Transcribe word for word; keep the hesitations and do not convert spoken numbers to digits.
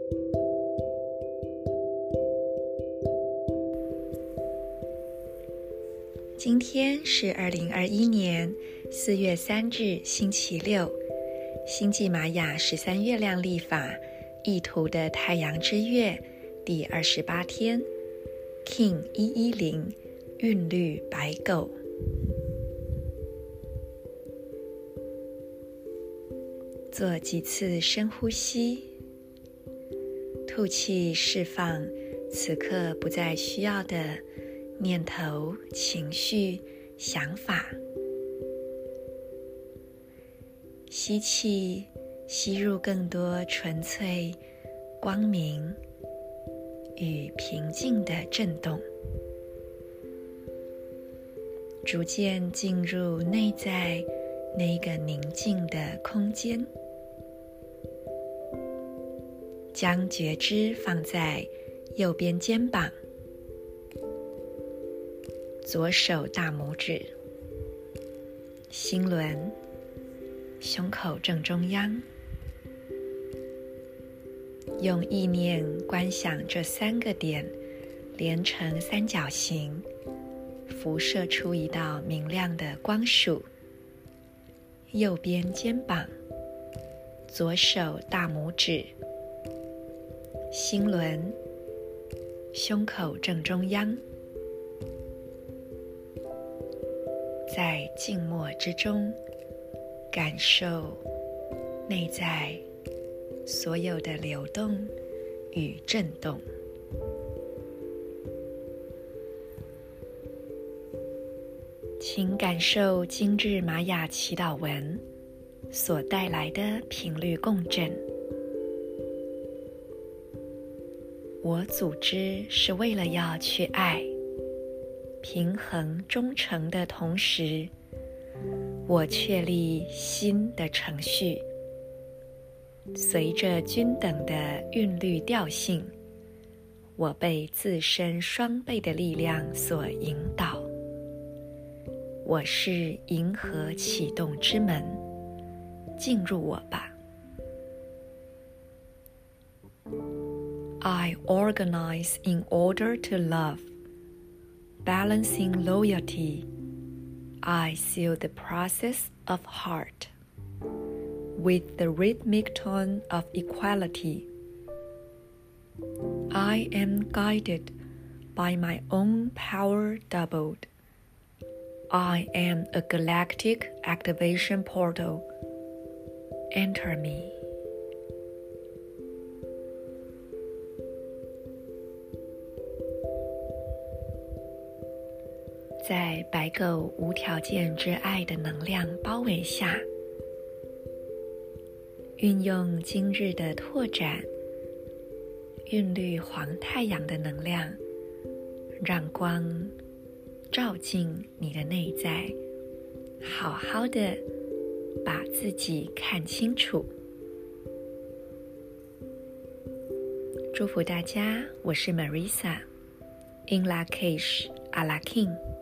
今天是二零二一年四月三日星期六，星际玛雅十三月亮历法意图的太阳之月第二十八天 King 一一零韵律白狗。做几次深呼吸，吐气释放此刻不再需要的念头、情绪、想法。吸气，吸入更多纯粹、光明与平静的震动，逐渐进入内在那个宁静的空间。将觉知放在右边肩膀，左手大拇指，心轮，胸口正中央。用意念观想这三个点连成三角形，辐射出一道明亮的光束。右边肩膀，左手大拇指，心轮，胸口正中央。在静默之中，感受内在所有的流动与震动。请感受今日玛雅祈祷文所带来的频率共振。我组织是为了要去爱，平衡忠诚的同时，我确立新的程序。随着均等的韵律调性，我被自身双倍的力量所引导。我是银河启动之门，进入我吧。I organize in order to love, balancing loyalty. I seal the process of heart with the rhythmic tone of equality. I am guided by my own power doubled. I am a galactic activation portal. Enter me. 在白狗无条件之爱的能量包围下，运用今日的拓展，韵律黄太阳的能量，让光照进你的内在，好好的把自己看清楚。祝福大家，我是 Marisa In Lak'ech Ala K'in。